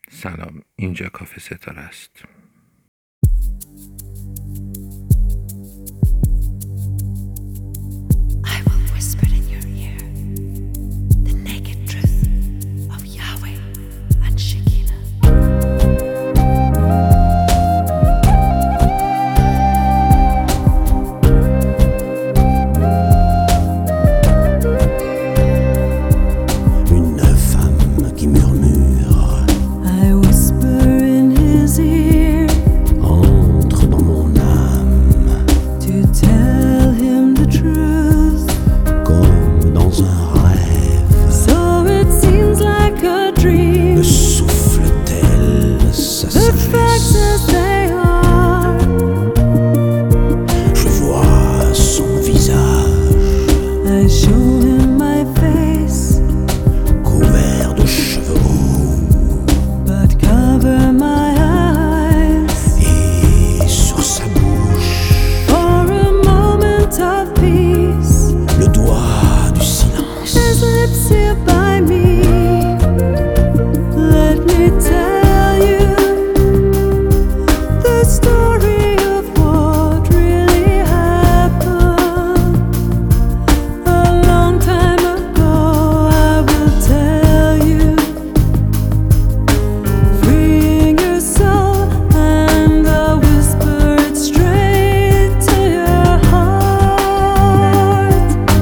سلام، اینجا کافه ستاره است. I will whisper in your ear the naked truth of Yahweh and Shekinah. Une femme qui murmure I whisper in his ear entre dans mon âme to tell him the truth. comme dans un rêve. So it seems like a Me dream. souffle-t-elle sa The facts sagesse? as they are. Je vois son visage I show him my face, couvert de cheveux roux but cover my eyes et sur sa bouche for a moment of peace. le doigt du silence. His lips here by me. Let me tell you the story of what really happened. A long time ago, I will tell you, freeing your soul, and I'll whisper it straight to your heart.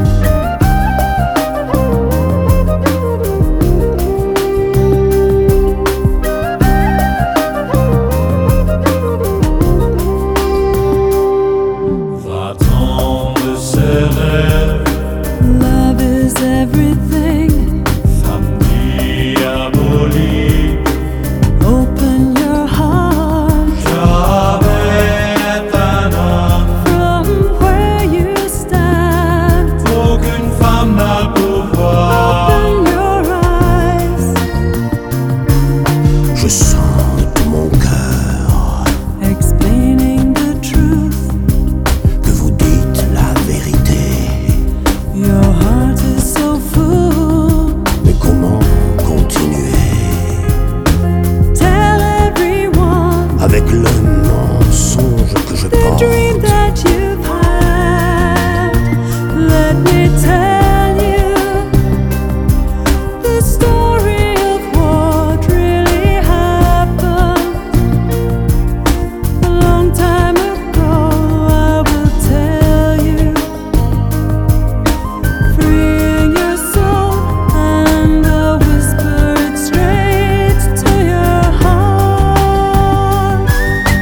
Va-t'en de ses rêves, Love is everything. femme diabolique. Open your heart J'avais un homme, from where you stand. aucune femme n'a le pouvoir. Open your eyes, Je sens de tout mon cœur explaining the truth. que vous dites la vérité. Your heart is so full. Mais comment continuer Tell everyone avec le mensonge que je the dream porte? that you've had. Let me tell you the story of what really happened. A long time ago, I will tell you, freeing your soul, and I'll whisper it straight to your heart.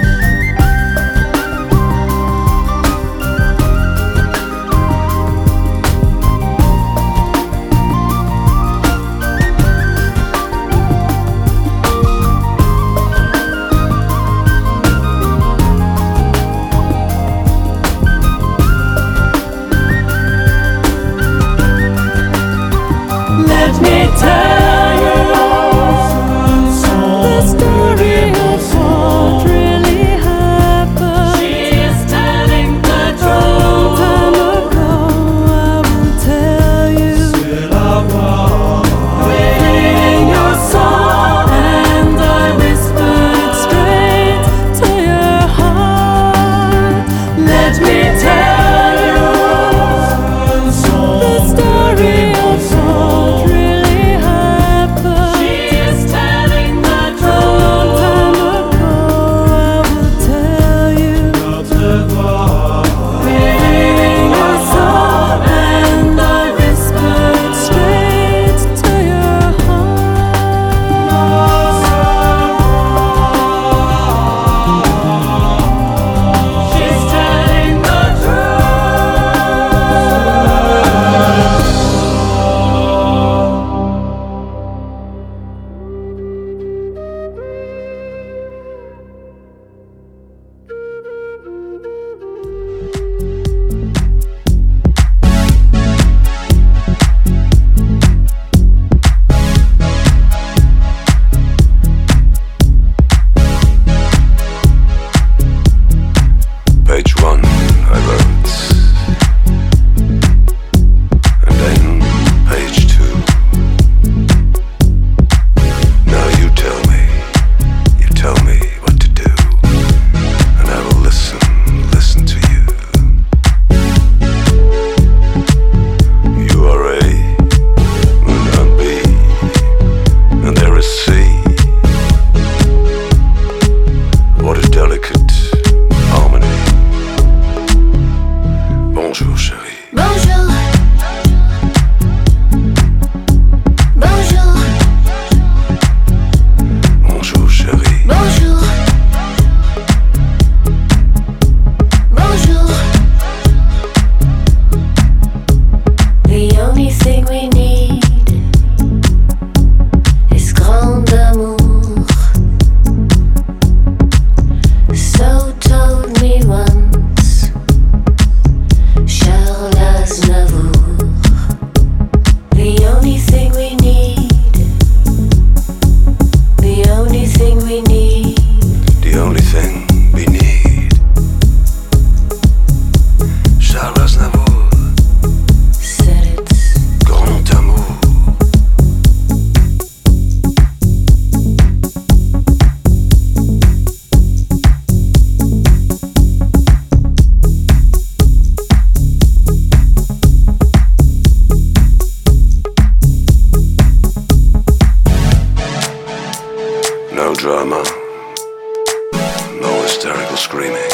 drama, no hysterical screaming.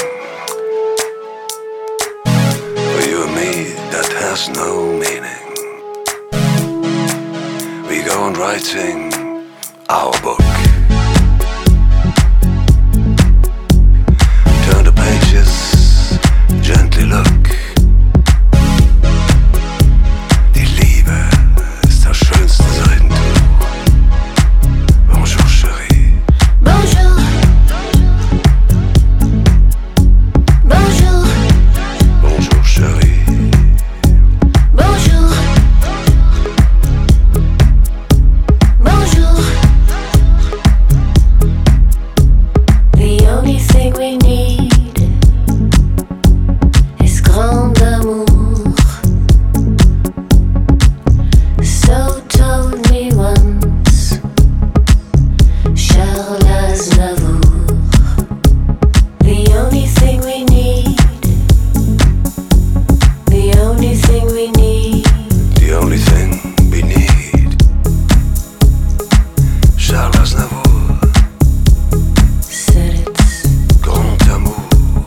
For you and me, that has no meaning. We go on writing our book. Turn the pages, gently look. Die Liebe ist das schönste Seidentuch. Bonjour, chérie. Bonjour. Bonjour. Bonjour, chérie. Bonjour. Bonjour. The only thing we need is grand amour. So told me once Charles Aznavour. The only thing we need, the only thing we need. The only thing we need. Charles Aznavour, Said it's grand amour.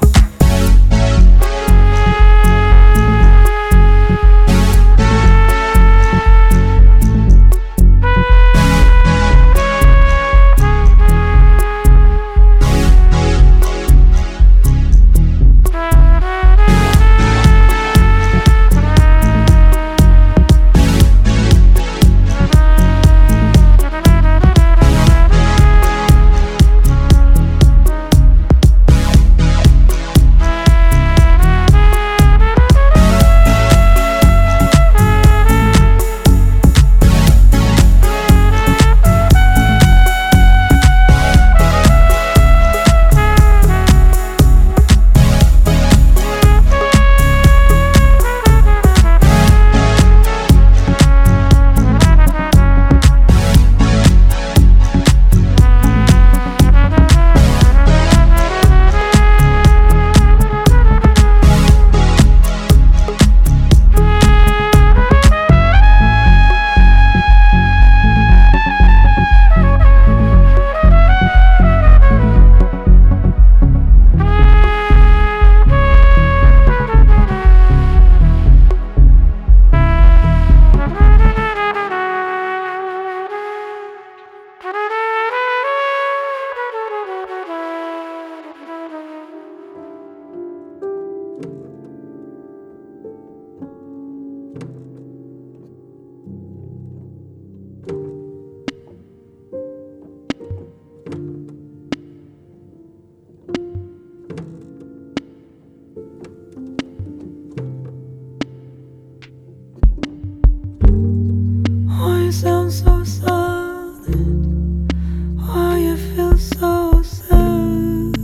Why you sound so silent? Why you feel so sad?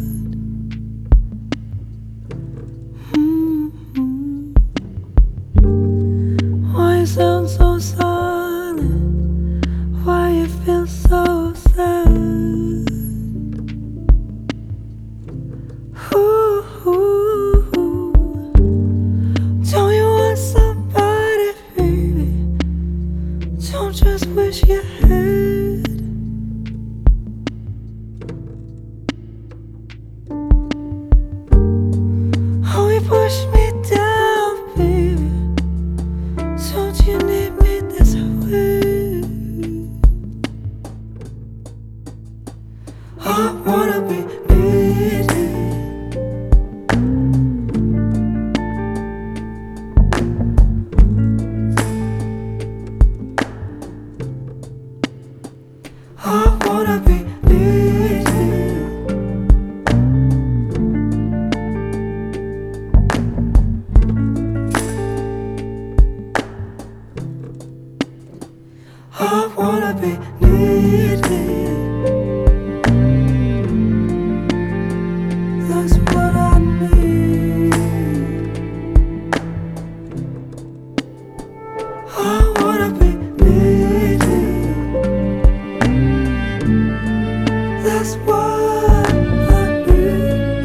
Why you sound so silent? Why you feel so sad? Don't you want somebody, baby? Don't just wish you had. Oh, you push me down, baby. Don't you need me this way? I wanna be needed. I wanna be needed. I wanna be needed. That's what I need. I wanna be needed. That's what I need.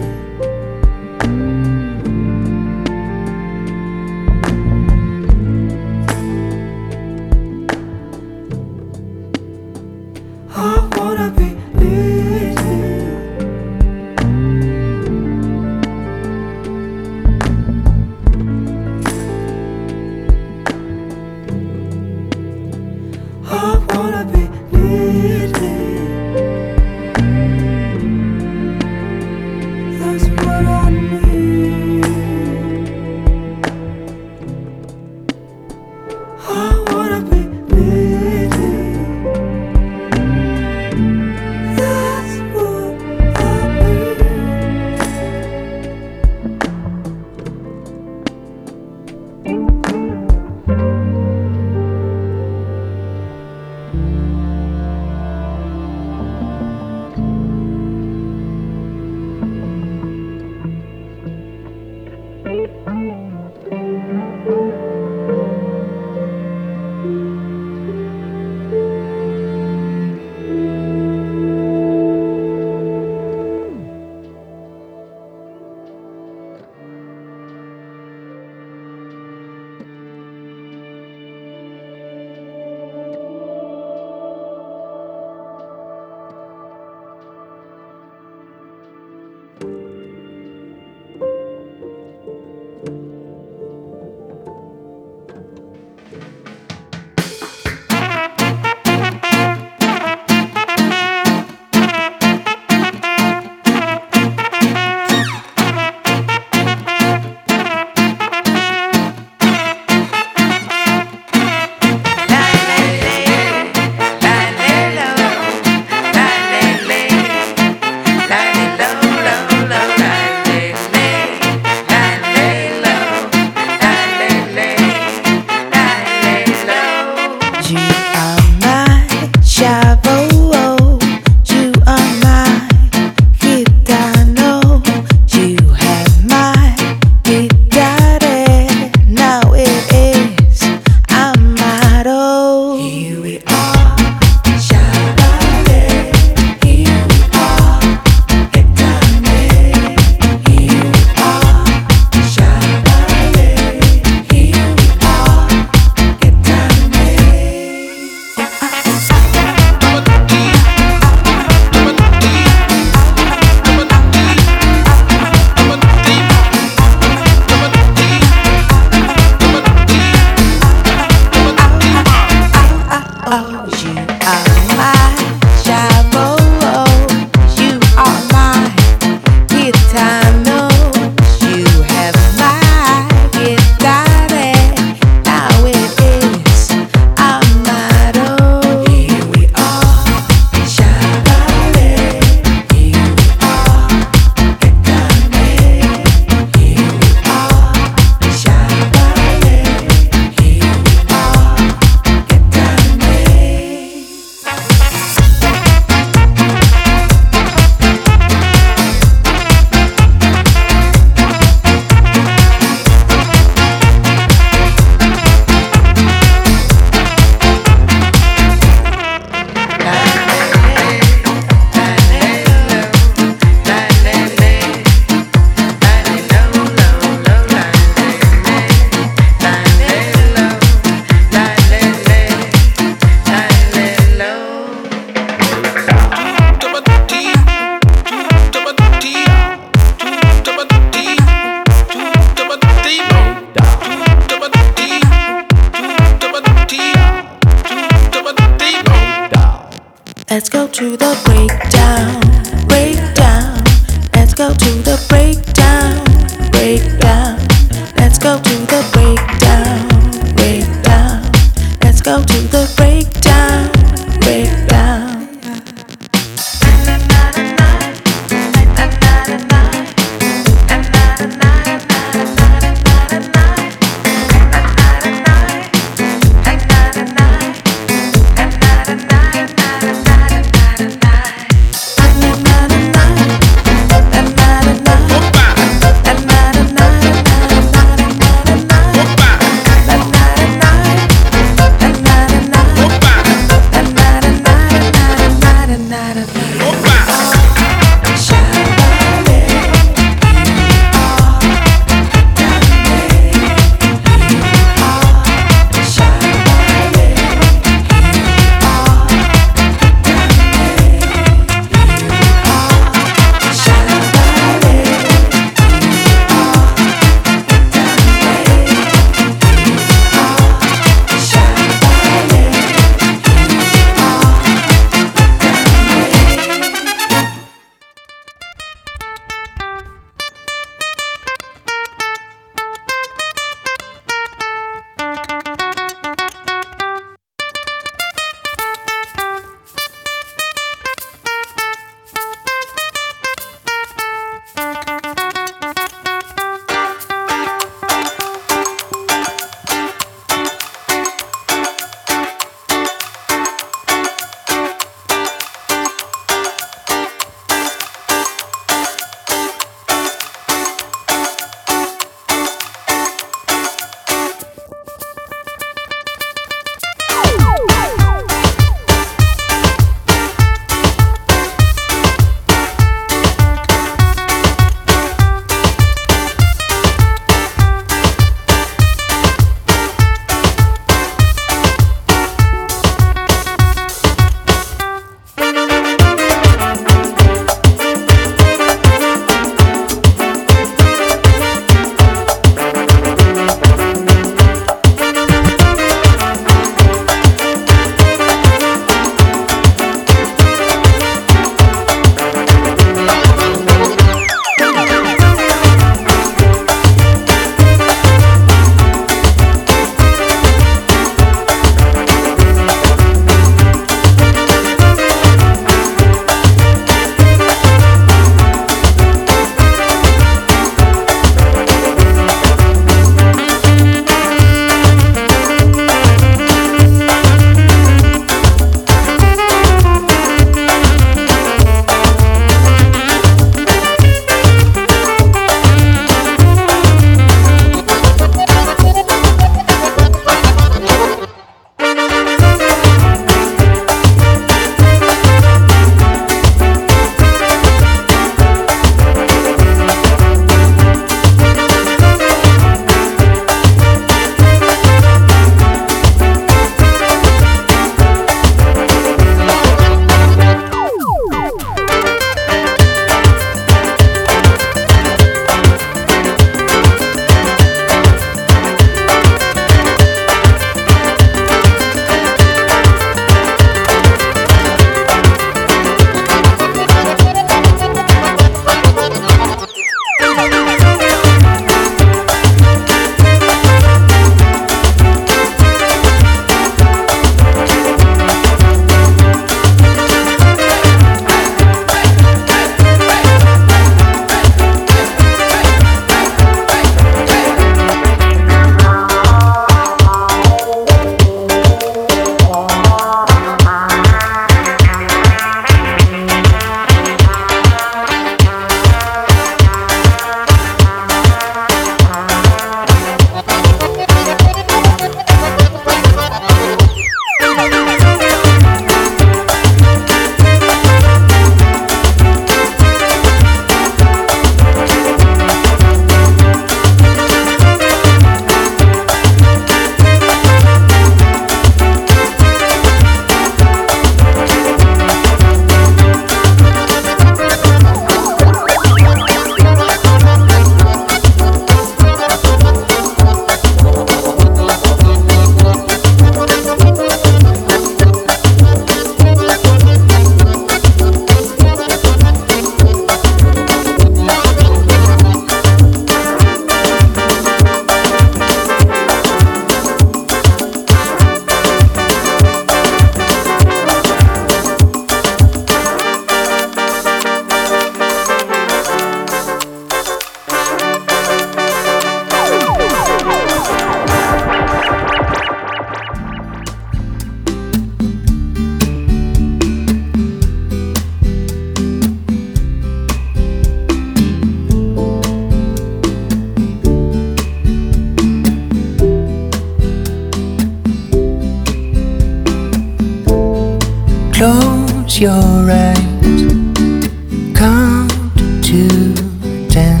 close your eyes, count to 10.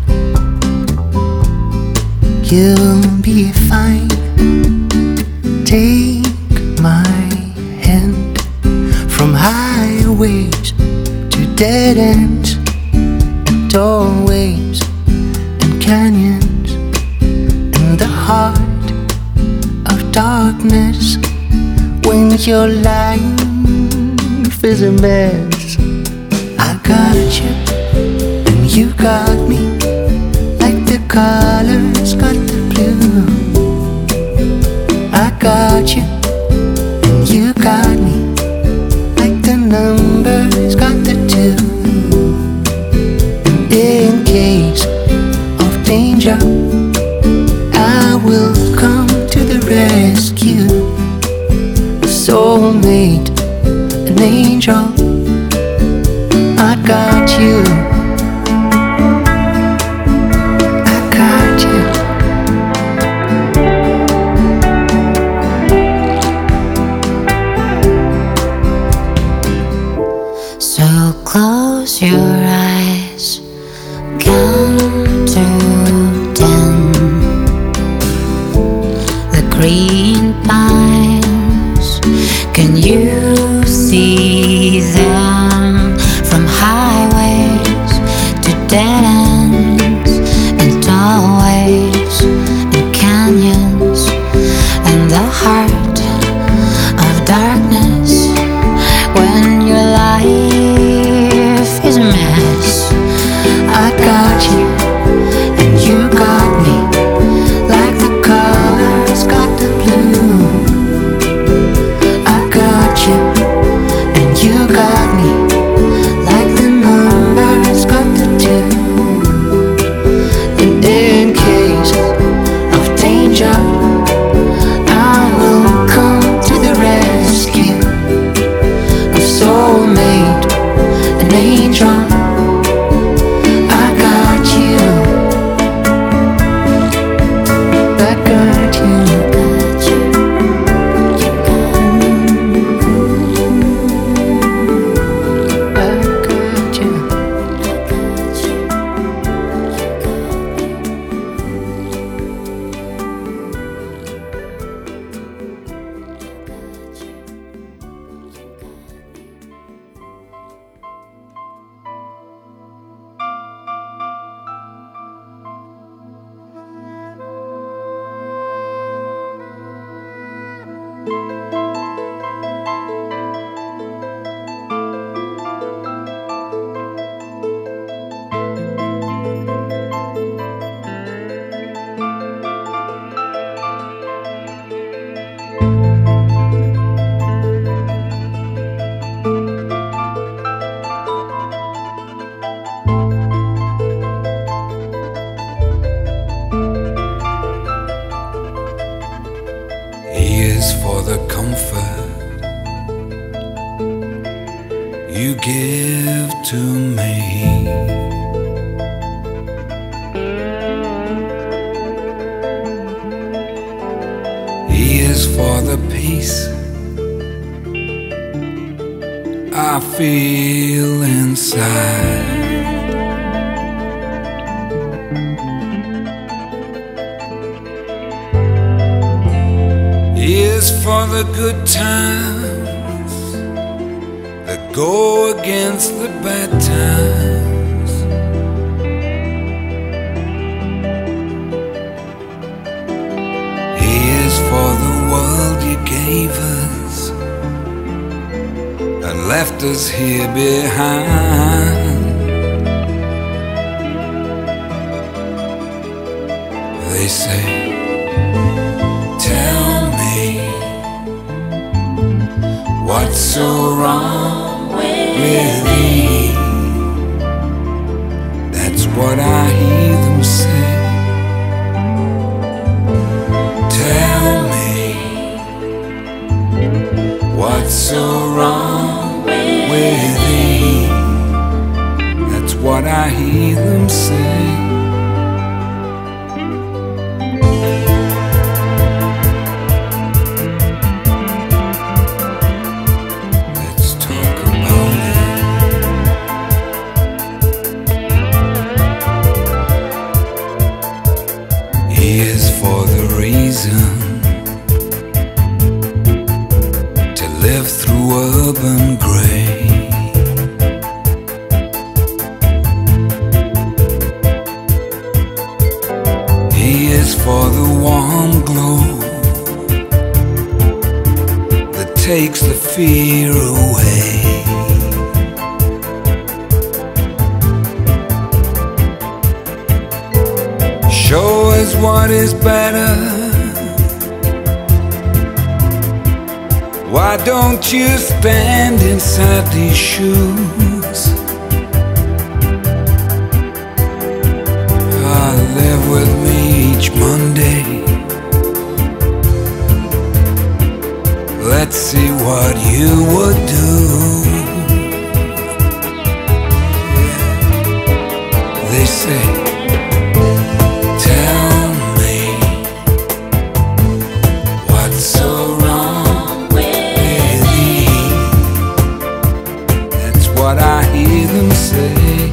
You'll be fine. Take my hand. From highways to dead ends, and doorways and canyons, in the heart of darkness, when your life is a mess. I got you and you got me, like the colors got the blue. I got you and you got me, like the numbers got the 2. And in case of danger, I will come to the rescue. A soulmate, an angel, I got you. I got you. So close your eyes, count to 10. The green pines, can you see them? From highways to dead ends, and doorways and canyons, and the heart of darkness, when your life is a mess. I got you and you got me, like the colors got the blue. I got you and you got me, like the numbers got the 2. And in case of danger, I will come to the rescue. A soulmate, an angel, I got you. I got you. I got you. He is for the comfort you give to me. He is for the peace I feel inside. He is for the good times that go against the bad times. He is for the world you gave us and left us here behind. They say, tell me what's so wrong with me. That's what I hear them say. Tell me what's so wrong with me. That's what I hear them say. Let's talk about He is for the reason to live through urban grey. He is for the warm glow that takes the fear away. Show us what is better. Why don't you stand inside these shoes? Live with me each Monday. Let's see what you would do. They say, tell me what's so wrong with me. That's what I hear them say.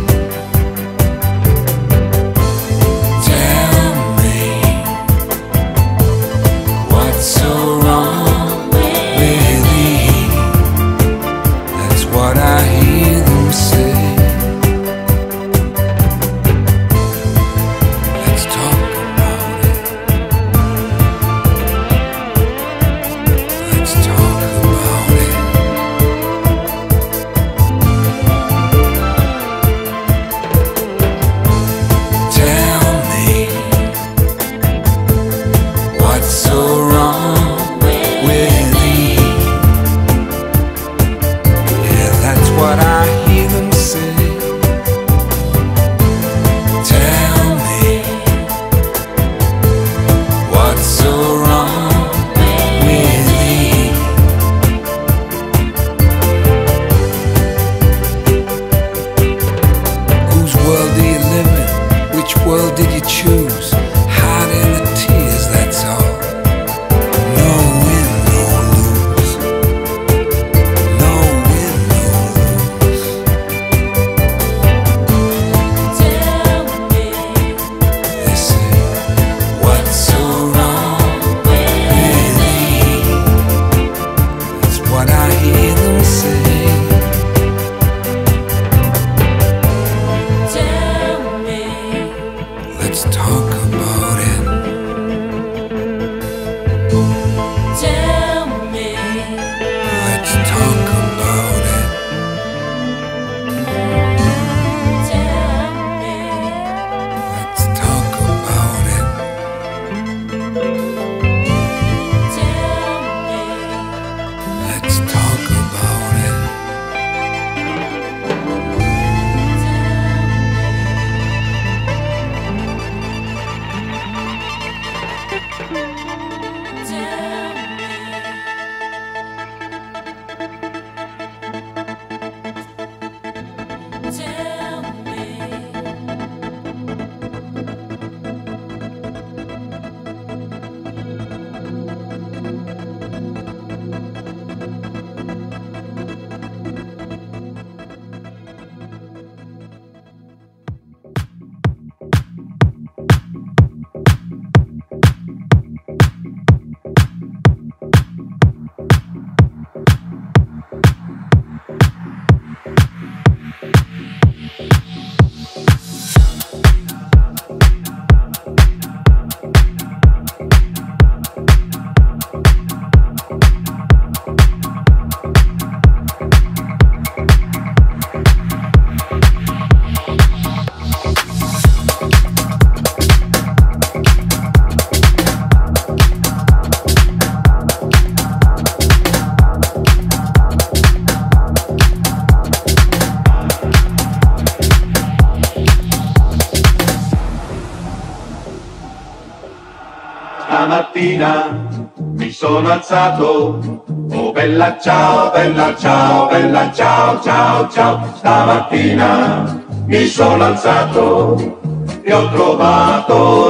Stamattina mi sono alzato, oh bella ciao, bella ciao, bella ciao, ciao, ciao. Stamattina mi sono alzato e ho trovato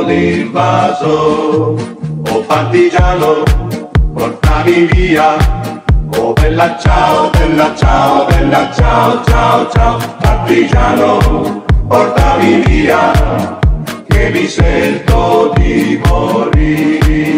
l'invaso. Oh partigiano, portami via, oh bella ciao, bella ciao, bella ciao, ciao, ciao. Partigiano, portami via, che mi sento di morire.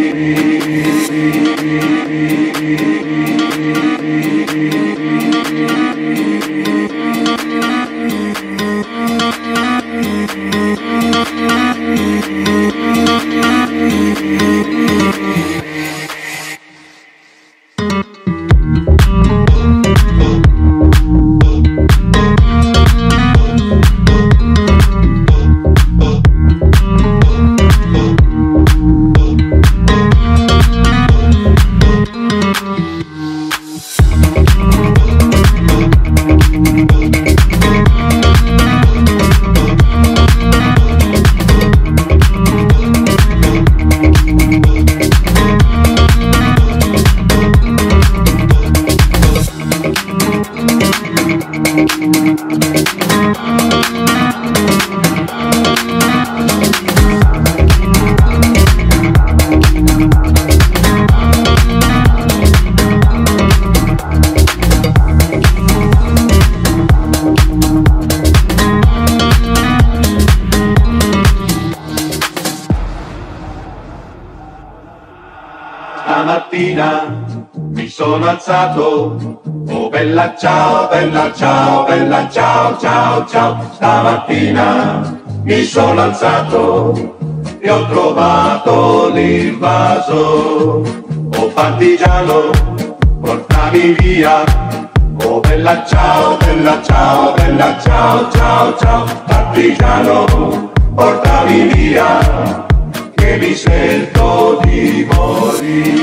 Stamattina mi sono alzato, oh bella ciao, bella ciao, bella ciao, ciao, ciao. Stamattina mi sono alzato e ho trovato l'invaso. Oh partigiano, portami via, oh bella ciao, bella ciao, bella ciao, ciao, ciao. Partigiano, portami via, che mi sento di morire.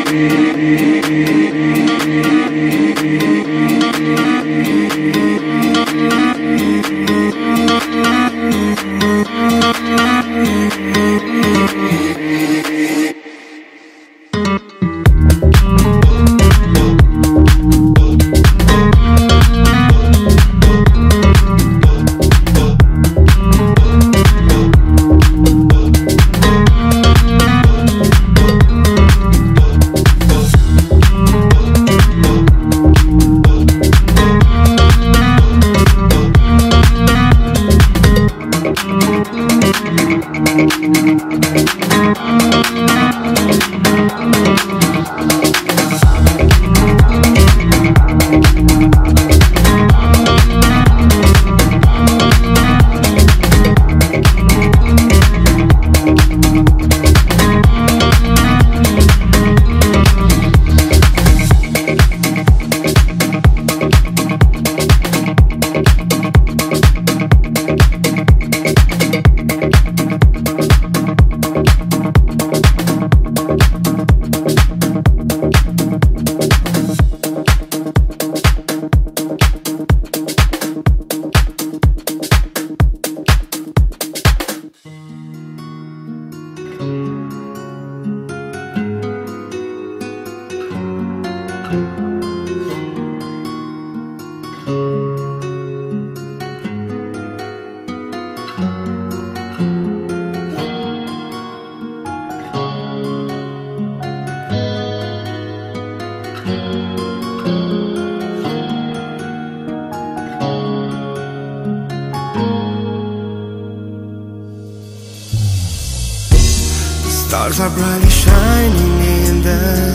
Stars are brightly shining in the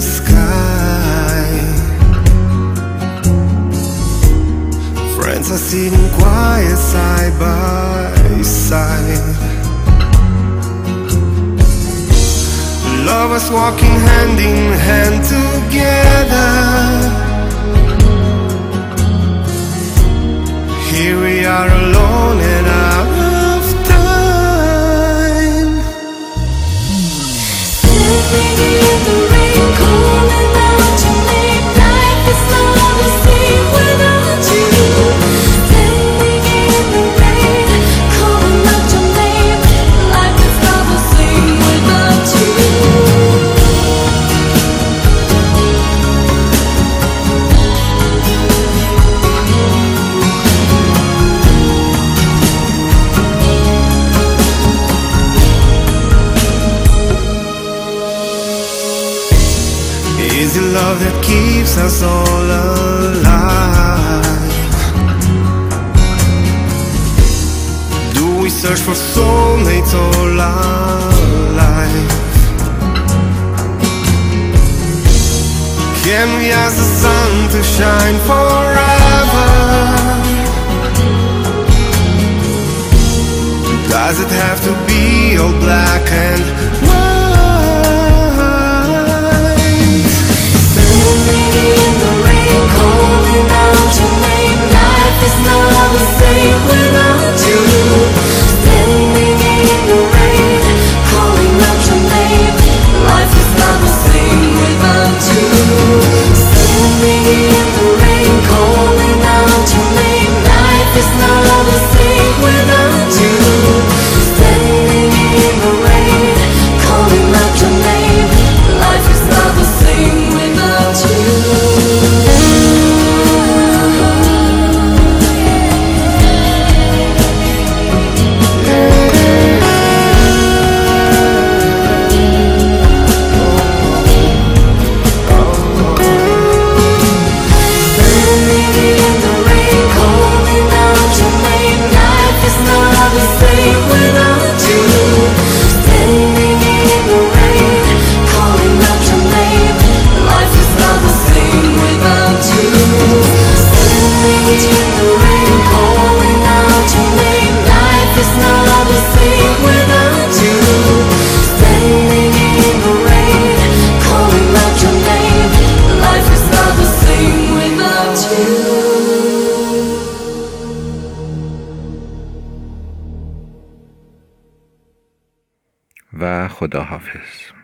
sky. Friends are sitting quiet side by side. Lovers walking hand in hand together. Here we are alone and out of time. Standing in the rain, calling out your name. Life is not the same without you. Standing in the rain, calling out your name. Life is not the same without you. Is it love that keeps us all alive? Do we we search for soulmates all our life. Can we ask the sun to shine forever? Does it have to be all black and white? Standing in the rain, calling out your name. Life is not the same without you. Standing in the rain, calling out your name. Life is not the same without you. Standing in the rain, calling out your name. Life is not the same without you. Standing in the rain, calling out your name. Life is not the same without you. Standing in the rain, calling out your name. Life is not the same without you. Standing in the rain, calling out your name. Life is not the same without you. Standing in the rain, calling out your name. Life is not the same without you. Standing in the rain, calling out your name. Life is not the same without you. و خداحافظ.